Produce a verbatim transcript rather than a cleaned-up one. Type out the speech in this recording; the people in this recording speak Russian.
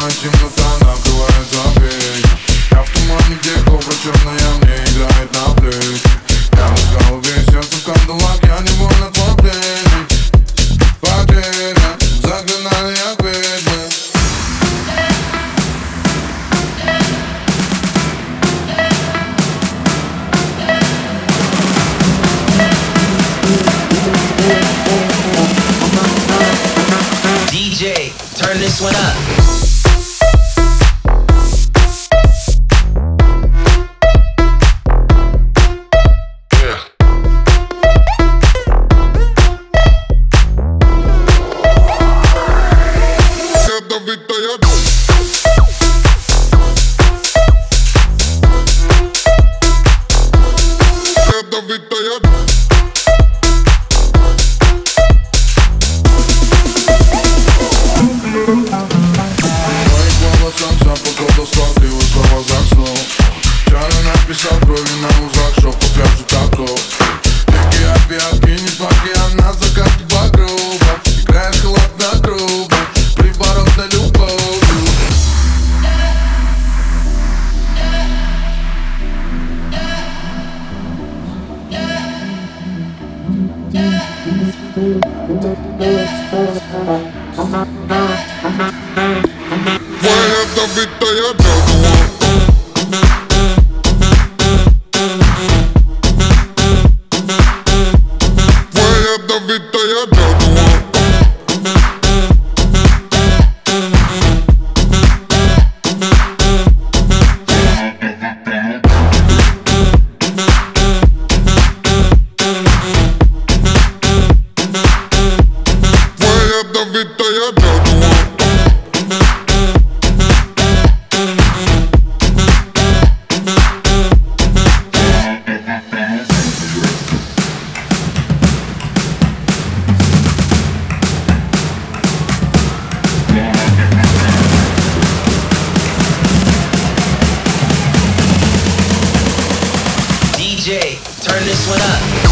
темнота накрывает запреть. Я в тумане, где кобра черная мне играет на плечи. Я в голове, сердце в кандалах, я невольно твой пленник. Потеря, заклинали як ведьмы. ди джей, turn this one up. Написал крови на узах, что покажет таков. Тики, опиатки, не плаки, она закатит два круга. Играет холоднокруга, приворот на любовью. Твоя добитая дорога. Добитая дорога. Твоя добитая дорога. ди джей, turn this one up.